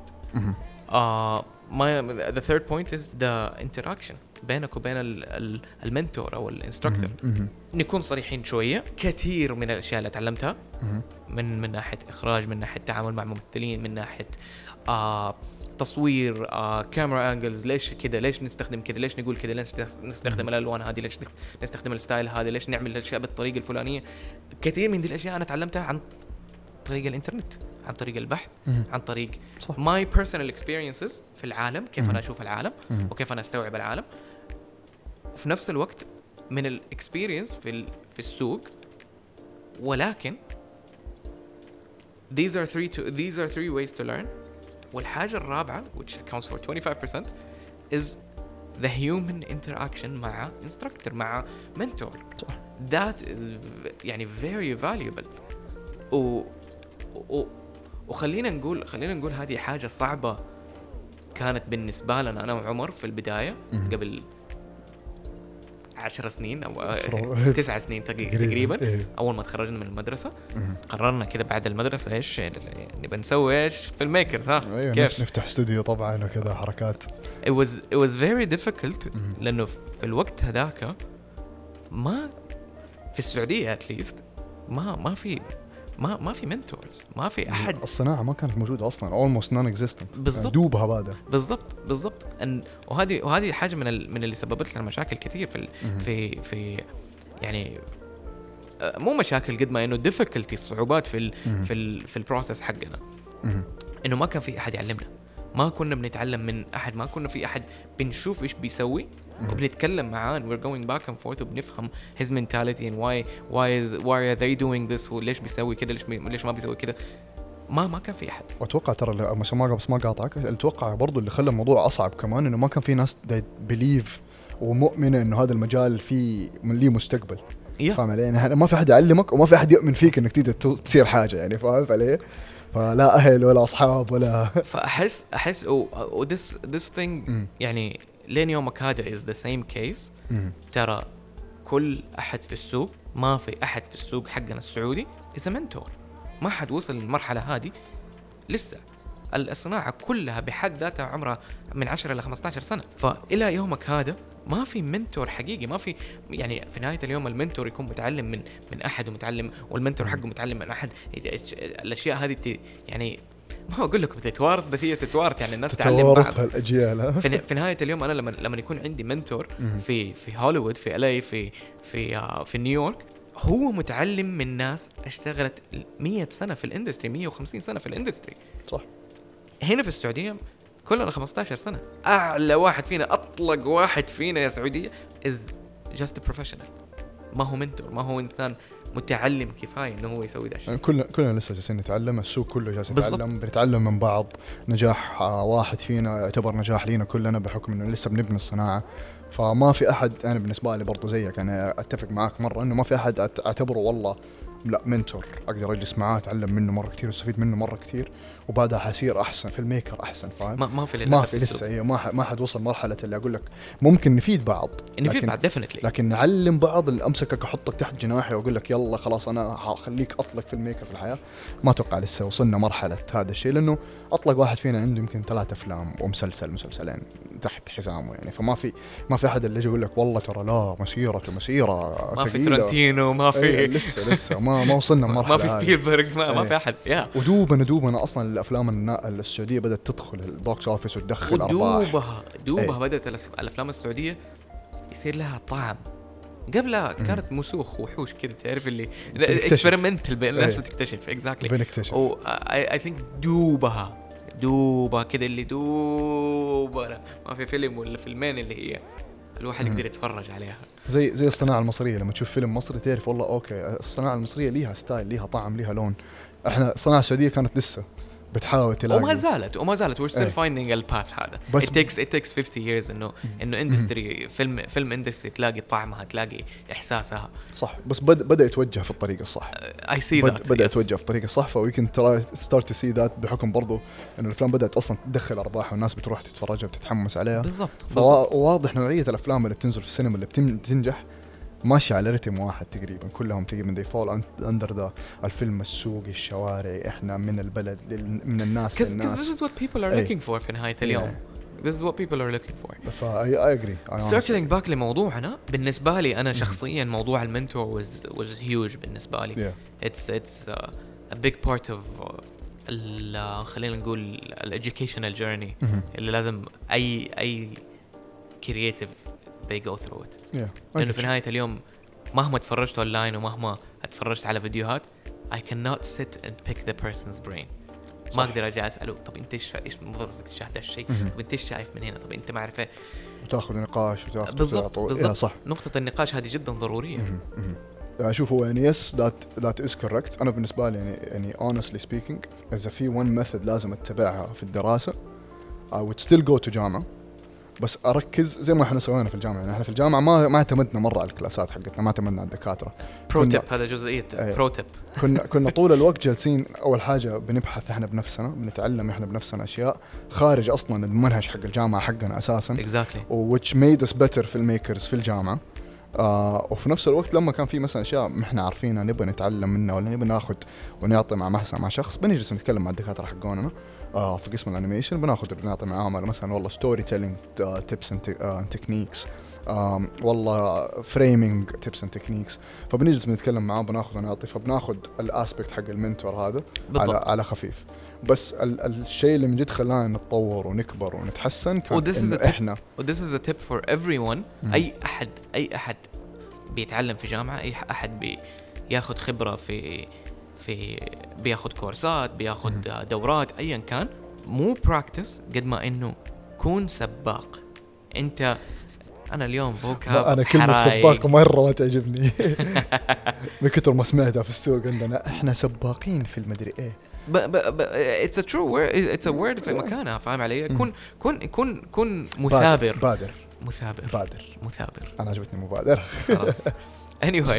آه ما the third point is the interaction بينك وبين المنتور او الانستراكتور. نكون صريحين شويه، كثير من الاشياء اللي تعلمتها من من ناحيه اخراج، من ناحيه تعامل مع ممثلين، من ناحيه آه تصوير، آه كاميرا انجلز، ليش كذا، ليش نستخدم كذا، ليش نقول كذا، ليش نستخدم الالوان هذه، ليش نستخدم الستايل هذا، ليش نعمل الاشياء بالطريقه الفلانيه. كثير من دي الاشياء انا تعلمتها عن طريق الانترنت، عن طريق البحث، عن طريق my personal experiences في العالم، كيف أنا أشوف العالم وكيف أنا أستوعب العالم، وفي نفس الوقت من الاكسبيرينس في في السوق. ولكن these are three to these are three ways to learn والحاجة الرابعة which accounts for twenty-five percent is the human interaction مع instructor مع mentor. صح. that is يعني very valuable. و, و وخلينا نقول خلينا نقول هذه حاجة صعبة كانت بالنسبة لنا أنا وعمر في البداية مم. قبل عشر سنين أو فرو- تسع سنين تقريبا, تقريباً. تقريبا. إيه. أول ما تخرجنا من المدرسة مم. قررنا كده بعد المدرسة إيش نبى نسوي إيش في الميكرز ها ايوه كيف نف- نفتح استوديو طبعا وكذا حركات. it was it was very difficult مم. لأنه في الوقت هذاك ما في السعودية at least ما ما في ما ما في منتورز ما في أحد الصناعه ما كانت موجوده اصلا almost non existent. بالضبط. دوبها بادة. بالضبط بالضبط أن وهذه وهذه حاجة من ال من اللي سببت لنا مشاكل كثير في ال مم. في في يعني آه، مو مشاكل قد ما إنه difficulty صعوبات في ال مم. في ال في البروسيس حقنا مم. إنه ما كان في أحد يعلمنا ما كنا بنتعلم من أحد ما كنا في أحد بنشوف إيش بيسوي مم. وبنتكلم معاه and we're going back and forth وبنفهم his mentality and why why is why are they doing this وليش بيسوي كده ليش بي ليش ما بيسوي كده ما ما كان في أحد. واتوقع ترى اللي- مش ما بس ما قاطعك، اتوقع برضو اللي خلى الموضوع اصعب كمان انه ما كان في ناس بليف ومؤمنه انه هذا المجال فيه ليه مستقبل. yeah. فاهم علي؟ يعني ما في احد يعلمك وما في احد يؤمن فيك انك تقدر تو- تصير حاجه يعني. فاهم علي؟ فلا اهل ولا اصحاب ولا فأحس أحس و و this this thing مم. يعني لين يومك هذا is the same case. مم. ترى كل أحد في السوق ما في أحد في السوق حقنا السعودي is a mentor. ما حد وصل للمرحلة هذه لسه. الصناعة كلها بحد ذاتها عمرها من عشرة إلى خمسة عشر سنة. فإلى يومك هذا ما في منتور حقيقي ما في يعني في نهاية اليوم المنتور يكون متعلم من من أحد ومتعلم والمنتور حقه متعلم من أحد. الأشياء هذه ت- يعني ما أقول لكم تتوارث بس هي تتوارث يعني الناس تعلم تتوارث بعض. هالاجيال. ها؟ في, في نهاية اليوم أنا لما لما يكون عندي منتور مم. في في هوليوود في إل إيه في في آه في نيويورك هو متعلم من ناس اشتغلت مية سنة في الاندستري مية وخمسين سنة في الاندستري. صح. هنا في السعودية كلنا خمسة عشر سنة. أعلى واحد فينا أطلق واحد فينا يا سعودية is just a professional. ما هو منتور ما هو إنسان متعلم كفاية إنه هو يسوي ده الشيء. يعني كلنا كلنا لسه جالسين نتعلم، السوق كله جالس بالضبط. يتعلم، بنتعلم من بعض. نجاح آه، واحد فينا يعتبر نجاح لينا كلنا بحكم انه لسه بنبني الصناعه. فما في احد، انا بالنسبه لي برضو زيك، انا اتفق معاك مره انه ما في احد أت- اعتبره والله لا منتور اقدر اجلس معاه اتعلم منه مره كثير واستفيد منه مره كثير وبعدها حصير احسن في الميكر احسن. فاهم؟ ما ما في للأسف ما في السوق. لسه هي ما ح- ما حد وصل مرحله اللي اقول لك ممكن نفيد بعض إنه في لكن- بعد definitely. لكن نعلم بعض، اللي امسكك احطك تحت جناحي واقول لك يلا خلاص انا حخليك اطلق في الميكر في الحياه. ما اتوقع لسه وصلنا مرحله هذا الشيء، لانه اطلق واحد فينا عنده يمكن ثلاث افلام ومسلسل مسلسلين تحت حزامه يعني. فما في ما في احد اللي يجي يقول لك والله ترى لا مسيرته مسيره ما في ثقيلة. ترنتينو ما أيه في لسه لسه ما ما وصلنا مرحله ما في سبيلبرغ ما, ما أيه. في أحد يا ودوبنا دوبنا اصلا الافلام النا- السعوديه بدات تدخل البوكس اوفيس وتدخل ارباح. ودوبها دوبها أي. بدأت الأس- الأفلام السعودية يصير لها طعم. قبلها كانت مسوخ وحوش كده تعرف اللي بنكتشف. اكسبيرمنتال الناس أي. بتكتشف اكزاكتلي. بنكتشف. او اي ثينك دوبها دوبها كده اللي دوبها ما في فيلم ولا فيلمين اللي هي الواحد يقدر يتفرج عليها. زي زي الصناعه المصريه، لما تشوف فيلم مصري تعرف والله اوكي الصناعه المصريه ليها ستايل ليها طعم ليها لون. احنا الصناعه السعوديه كانت لسه بتحاول تلاقي وما زالت وما زالت we're still أي. finding الباث هذا. بس it takes it takes fifty years انه انه اندستري فيلم فيلم اندستري تلاقي طعمها تلاقي احساسها. صح، بس بد بدا يتوجه في الطريق الصح. I see بد that بدا yes. يتوجه في الطريق الصح. فويكن ترى ستارت تو سي ذات بحكم برضو انه الافلام بدات اصلا تدخل ارباح والناس بتروح تتفرجها وبتتحمس عليها. بالضبط بالضبط. فواضح نوعيه الافلام اللي بتنزل في السينما اللي بتنجح ماشي على رتم واحد تقريبا، كلهم تقريبا they fall under ذا الفيلم السوقي الشوارعي، احنا من البلد لل... من الناس Because للناس. this is what people are أي. looking for في نهاية اليوم. This is what people are looking for. فا I agree. I honestly- Circling back لموضوعنا بالنسبة لي أنا شخصيا موضوع المنتور was was huge بالنسبة لي. Yeah. It's it's uh, a big part of uh, ال خلينا نقول ال educational journey مهم. اللي لازم أي أي creative they go through it. Yeah. لأنه I في get نهاية اليوم مهما تفرجت أونلاين ومهما اتفرجت على فيديوهات I cannot sit and pick the person's brain. صح. ما أقدر أجي أسأله طب أنت إيش إيش المفروض تشاهد هالشيء؟ مهم. طب أنت إيش شايف من هنا؟ طب أنت ما أعرف إيه. وتاخذ نقاش وتاخذ بالضبط وتعطي. بالضبط. yeah, صح. نقطة النقاش هذه جدا ضرورية. مهم. مهم. يعني شوف هو يعني يس that that is correct. أنا بالنسبة لي يعني يعني honestly speaking إذا في one method لازم أتبعها في الدراسة I would still go to جامعة بس أركز زي ما إحنا سوينا في الجامعة. يعني إحنا في الجامعة ما ما اعتمدنا مرة على الكلاسات حقتنا ما اعتمدنا على الدكاترة. برو تيب هذا جزئية برو تيب. كنا كنا طول الوقت جالسين أول حاجة بنبحث إحنا بنفسنا بنتعلم إحنا بنفسنا أشياء خارج أصلاً المنهج حق الجامعة حقنا أساساً. Exactly. which made us better في الميكرز في الجامعة. آه وفي نفس الوقت لما كان في مثلا أشياء إحنا عارفينها نبغى نتعلم منها ولا نبغى ناخذ ونعطي مع مثلا مع شخص بنجلس نتكلم مع الدكاترة حقوننا آه في قسم الأنيميشن بناخذ بنعطي معاهم مثلا والله ستوري تيلينج تيبس اند تكنيكس والله فريمينج تيبس اند تكنيكس فبنجلس بنتكلم معاه بناخذ ونعطي فبناخذ الاسبكت حق المنتور هذا على على خفيف. بس ال الشيء اللي من جد خلانا نتطور ونكبر ونتحسن كان إنه إحنا و this is a tip for everyone. أي أحد أي أحد بيتعلم في جامعة أي أحد بياخد خبرة في في بياخد كورسات بياخد دورات أيا كان مو براكتس قد ما إنه كون سباق. أنت أنا اليوم فوكاب أنا كلمة سباق مرة ما تعجبني من كتر ما سمعتها في السوق عندنا إحنا سباقين في المدري إيه. ب ب ب it's a true word it's a word في مكانها فاهم علي. كن كن كن كن مثابر بادر مثابر بادر مثابر. أنا عجبتني مبادر خلاص. anyway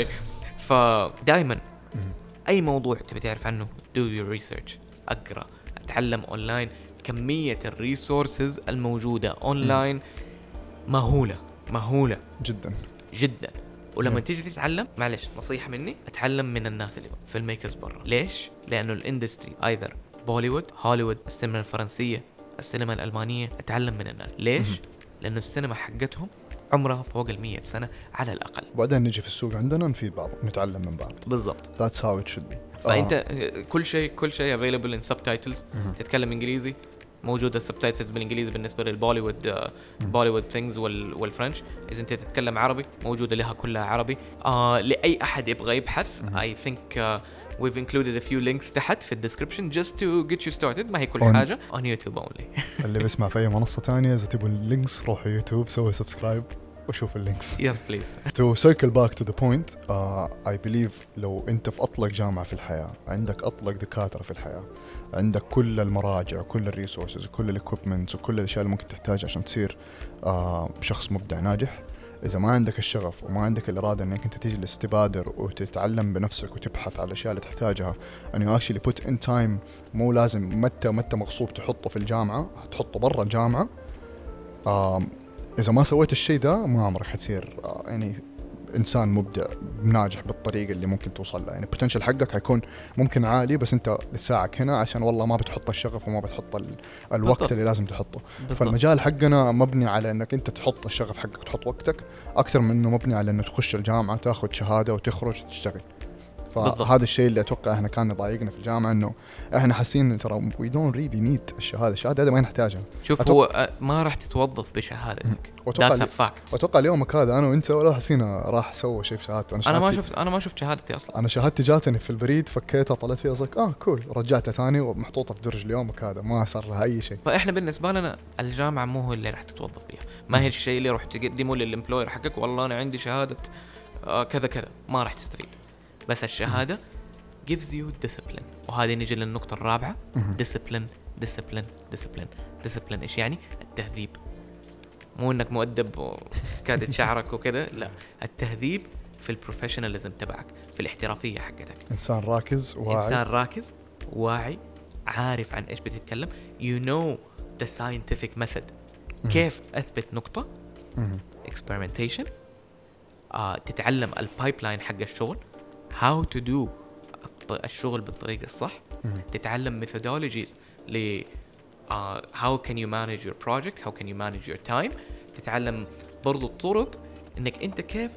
فدائما أي موضوع تبي تعرف عنه do your research أقرأ أتعلم أونلاين. كمية الريسورسز الموجودة أونلاين مهولة مهولة جدا جدا. ولما تيجي تتعلم معلش نصيحة مني أتعلم من الناس اللي في الميكرز برا. ليش؟ لأنه الاندستري ايذر بوليوود هوليوود السينما الفرنسية السينما الألمانية أتعلم من الناس. ليش؟ لأنه السينما حقتهم عمرها فوق المية سنة على الأقل. وبعدين نجي في السوق عندنا نفيد بعض نتعلم من بعض. بالضبط. That's how it should be. فأنت آه. كل شيء كل شيء available in subtitles. تتكلم إنجليزي موجودة السبتايتلز بالإنجليزي بالنسبة للبوليوود بوليوود ثينجز والفرنش. إذا أنت تتكلم عربي موجودة لها كلها عربي. آه لأي أحد يبغى يبحث I think uh, we've included a few links تحت في الديسكريبشن just to get you started. ما هي كل on حاجة on YouTube only. اللي بيسمع في أي منصة تانية إذا تبوا اللينكس روحوا يوتيوب سووا سبسكرايب وشوف اللينكس. Yes please. To circle back to the point uh, I believe لو أنت في أطلق جامعة في الحياة عندك أطلق دكاترة في الحياة عندك كل المراجع وكل الريسورسز وكل الاكويبمنتس وكل الاشياء اللي ممكن تحتاجها عشان تصير آه شخص مبدع ناجح. اذا ما عندك الشغف وما عندك الاراده انك انت تجلس تبادر وتتعلم بنفسك وتبحث على الاشياء اللي تحتاجها and you actually put in time مو لازم متى متى مغصوب تحطه في الجامعه تحطه برا الجامعه. آه اذا ما سويت الشيء ده ما عمرك حتصير آه يعني إنسان مبدع ناجح بالطريقة اللي ممكن توصل لها. يعني potential حقك حيكون ممكن عالي بس أنت لساعك هنا عشان والله ما بتحط الشغف وما بتحط ال... الوقت بالضبط. اللي لازم تحطه بالضبط. فالمجال حقنا مبني على أنك أنت تحط الشغف حقك وتحط وقتك أكثر من أنه مبني على أنه تخش الجامعة تأخذ شهادة وتخرج وتشتغل. فهذا الشيء اللي أتوقع إحنا كان ضايقنا في الجامعة إنه إحنا حاسين ترى we don't really need الشهادة الشهادة هذا ما نحتاجها. شوف أتوقع هو ما راح تتوظف بشهادتك. That's a fact. وأتوقع اليوم هذا أنا وأنت ولا واحد فينا راح سوى شيء في شهادته. أنا, أنا ما شفت أنا ما شفت شهادتي أصلا. أنا شهادتي جاتني في البريد فكيتها طلعت فيها زك آه كول رجعتها ثاني ومحطوطة في درج اليوم وكذا ما صار لها أي شيء. فإحنا بالنسبة لنا الجامعة مو هو اللي راح تتوظف بيها. ما هي الشيء اللي راح تقدمه للإمبلوير حقك والله أنا عندي شهادة آه كذا كذا ما راح تستفيد. بس الشهادة gives you discipline. وهذه نيجي للنقطة الرابعة discipline discipline discipline discipline إيش يعني؟ التهذيب. مو إنك مؤدب وكادت شعرك وكذا لا التهذيب في البروفيشناليزم تبعك في الاحترافية حقتك. إنسان راكز واعي. إنسان راكز واعي عارف عن إيش بتتكلم. you know the scientific method. كيف أثبت نقطة experimentation. آه تتعلم البايبلاين حق الشغل how to do الشغل بالطريقة الصح. تتعلم methodologies ل uh, how can you manage your project how can you manage your time. تتعلم برضو الطرق انك انت كيف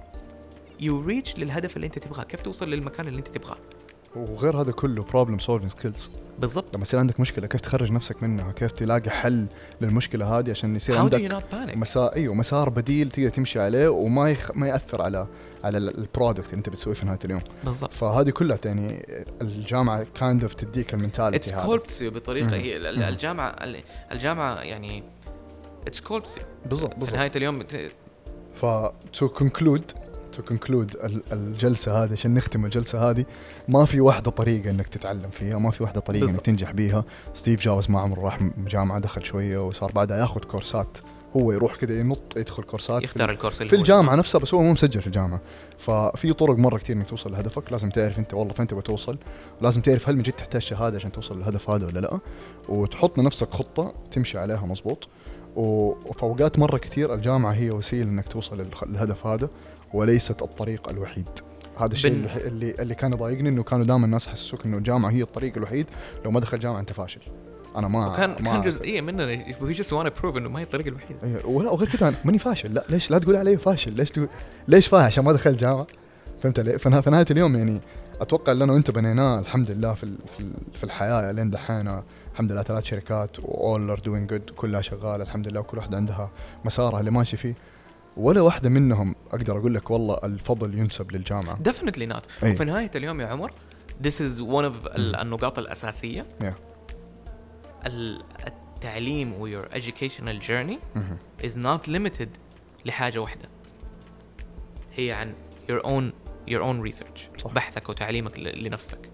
you reach للهدف اللي انت تبغاه كيف توصل للمكان اللي انت تبغاه. وغير هذا كله problem solving skills. بالضبط. لما يصير عندك مشكلة كيف تخرج نفسك منها كيف تلاقي حل للمشكلة هذه عشان يصير عندك مسار ايوه مسار بديل تقدر تمشي عليه وما يخ... ما يأثر على على البرودكت اللي انت بتسويه في نهاية اليوم. بالضبط. فهذه كلها يعني الجامعة kind of تديك المنتاليتي هذا. It's sculpts you بطريقة هي الجامعة الجامعة يعني it's sculpts you. بالضبط بالضبط. في نهاية اليوم بت... ف to conclude تو كونكلود الجلسه هذه، عشان نختم الجلسه هذه، ما في واحده طريقه انك تتعلم فيها، ما في واحده طريقه انك تنجح بيها. ستيف جوبز ما عمره راح جامعه، دخل شويه وصار بعدها ياخذ كورسات، هو يروح كده ينط يدخل كورسات يختار الكورس في الجامعه نفسها، بس هو مو مسجل في الجامعه. ففي طرق مره كثير انك توصل لهدفك، لازم تعرف انت والله فين تبغى توصل، ولازم تعرف هل من جد تحتاج شهاده عشان توصل للهدف هذا ولا لا، وتحط لنفسك خطه تمشي عليها مزبوط. وفي اوقات مره كثير الجامعه هي وسيله انك توصل للهدف هذا وليست الطريق الوحيد. هذا الشيء بن... اللي اللي كان يضايقني، انه كانوا دائما الناس يحسسوك انه الجامعه هي الطريق الوحيد، لو ما دخل جامعه انت فاشل. انا ما كان ما كان جزئيه مننا we just want to prove انه ما هي الطريقه الوحيده. أيه. ولا وغير كذا ماني فاشل، لا ليش لا تقول علي فاشل؟ ليش تقول ليش فاشل عشان ما دخلت جامعه؟ فهمت علي؟ في نهايه اليوم يعني اتوقع ان انا وانت بنيناه الحمد لله في في الحياه لين دحين، الحمد لله ثلاث شركات وall are doing good، كلها شغاله الحمد لله، وكل واحده عندها مسارها اللي ماشي فيه، ولا واحده منهم اقدر اقول لك والله الفضل ينسب للجامعه. definitely not. أيه. وفي نهايه اليوم يا عمر this is one of النقاط الاساسيه. yeah. التعليم و your educational journey is not limited لحاجة واحدة، هي عن your own your own research. صح. بحثك وتعليمك لنفسك،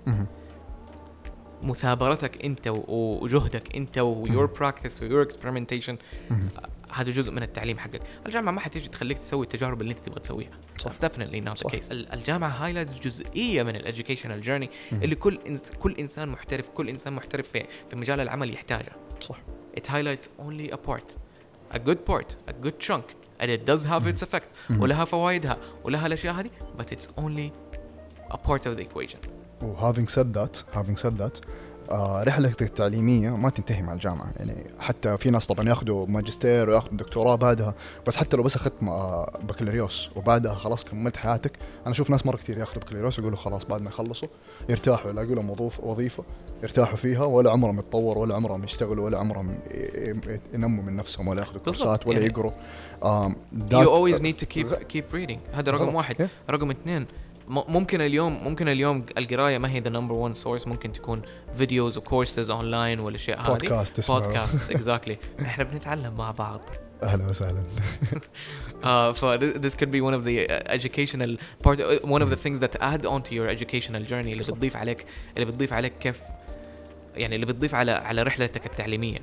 مثابرتك انت وجهدك انت و your practice و your experimentation، هذا جزء من التعليم حقك. الجامعة ما حتيجي تخليك تسوي التجارب اللي انت تبغى تسويها. That's definitely not the case. الجامعة highlights جزئية من ال educational journey اللي كل إنس كل إنسان محترف كل إنسان محترف في في مجال العمل يحتاجها. صح. It highlights only a part, a good part, a good chunk, and it does have its effect. ولها فوائدها ولها الأشياء هذه, but it's only a part of the equation. و having said that, having said that, آه رحلتك التعليمية ما تنتهي مع الجامعة. يعني حتى في ناس طبعا ياخدوا ماجستير وياخدوا دكتوراه بعدها، بس حتى لو بس أخذت آه بكالوريوس وبعدها خلاص كملت حياتك. أنا أشوف ناس مرة كتير ياخدوا بكالوريوس ويقولوا خلاص بعد ما يخلصوا يرتاحوا، يلاقوا لهم وظيفة يرتاحوا فيها، ولا عمرهم يتطوروا ولا عمرهم يشتغلوا ولا عمرهم ينموا من نفسهم ولا ياخدوا كورسات ولا يعني يقروا. um, you always need to keep keep reading. هذا رقم واحد. رقم اثنين، ممكن اليوم ممكن اليوم القرايه ما هي the number one source، ممكن تكون فيديوز وكورسز اونلاين والاشياء هذه. بودكاست بودكاست exactly. احنا بنتعلم مع بعض. اهلا وسهلا. uh, so this could be one of the educational part, one of the things that add on to your educational journey، اللي بتضيف عليك اللي بتضيف عليك كيف يعني اللي بتضيف على على رحلتك التعليميه.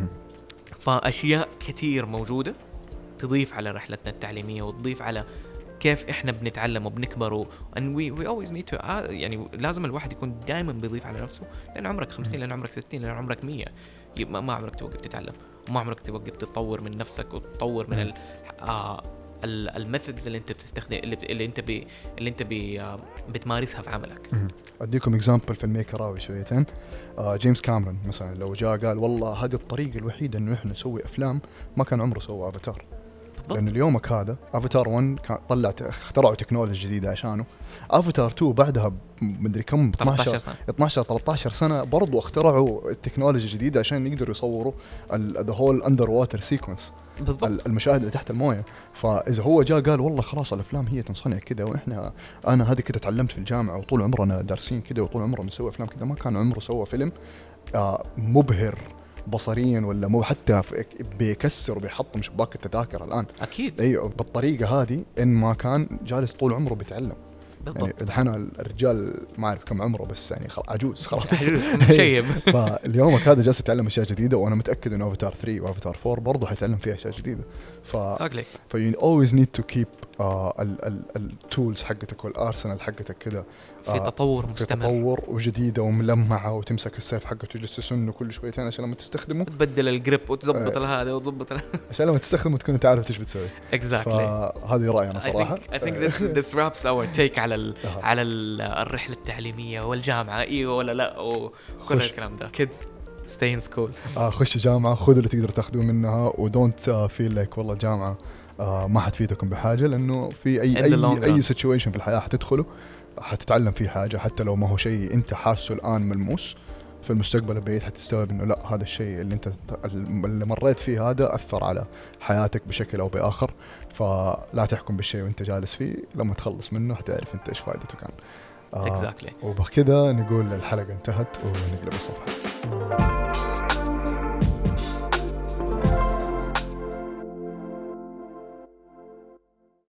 فاشياء كثير موجوده تضيف على رحلتنا التعليميه وتضيف على كيف احنا بنتعلم وبنكبر و and we we always need to uh, يعني لازم الواحد يكون دائما بيضيف على نفسه، لأن عمرك خمسين، لأن عمرك ستين، لأن عمرك مية، ما, ما عمرك توقف تتعلم، وما عمرك توقف تتطور من نفسك وتطور من ال آه الميثودز اللي انت بتستخدم اللي, اللي انت بي اللي انت بي آه بتمارسها في عملك. اديكم اكزامبل في الميكراوي شويتين. آه جيمس كاميرون مثلا لو جاء قال والله هذه الطريقه الوحيده انه احنا نسوي افلام، ما كان عمره سوى افاتار. لأن اليومك هذا افاتار واحد كان طلعت اخترعوا تكنولوجيا جديدة عشانه. افاتار اثنين بعدها مدري كم اثناشر ثلاثة عشر سنة برضو اخترعوا التكنولوجيا الجديدة عشان يقدروا يصوروا ذا هول اندر ووتر سيكونس، المشاهد اللي تحت المويه. فاذا هو جاء قال والله خلاص الافلام هي تنصنع كده، واحنا انا هذه كده تعلمت في الجامعة وطول عمرنا دارسين كده وطول عمرنا نسوي افلام كده، ما كان عمره سوى فيلم آه مبهر بصريا ولا مو حتى بيكسر وبيحطم شباك التذاكر الآن. أكيد. أيوة بالطريقة هذه إن ما كان جالس طول عمره بيتعلم. بالضبط. يعني الحين الرجال ما أعرف كم عمره بس يعني خلاص عجوز خلاص. شيب. فاليومك هذا جالس يتعلم أشياء جديدة، وأنا متأكد إنه أفاتار ثلاثة وأفاتار أربعة برضه حيتعلم فيها أشياء جديدة. ف ف you always need to keep uh, ال ال التولز حقتك والأرسنال حقتك كده في تطور مستمر، في تطور وجديدة وملمعة، وتمسك السيف حقك وتجلس تسنه كل شويتين عشان لما تستخدمه تبدل الجريب وتزبط آه هذا وتزبط عشان لما تستخدمه تكون تعرف ايش بتسوي. exactly. فهذه رأيي أنا صراحة. I think, I think this this wraps our take على ال على ال الرحلة التعليمية والجامعة، ايوه ولا لا، وكل الكلام ده. kids stay in school. آه خش جامعة، خذوا اللي تقدر تاخذوه منها، ودونت فيل لايك والله الجامعة آه ما حتفيدكم بحاجة، لأنه في أي أي أي situation في الحياة حتدخله حتتعلم فيه حاجة، حتى لو ما هو شيء أنت حاسه الآن ملموس، في المستقبل البعيد حتستوعب إنه لا هذا الشيء اللي أنت اللي مريت فيه هذا أثر على حياتك بشكل أو بآخر. فلا تحكم بالشيء وأنت جالس فيه، لما تخلص منه حتعرف أنت إيش فائدته كان. آه exactly. وبكذا نقول الحلقة انتهت ونقلب الصفحة.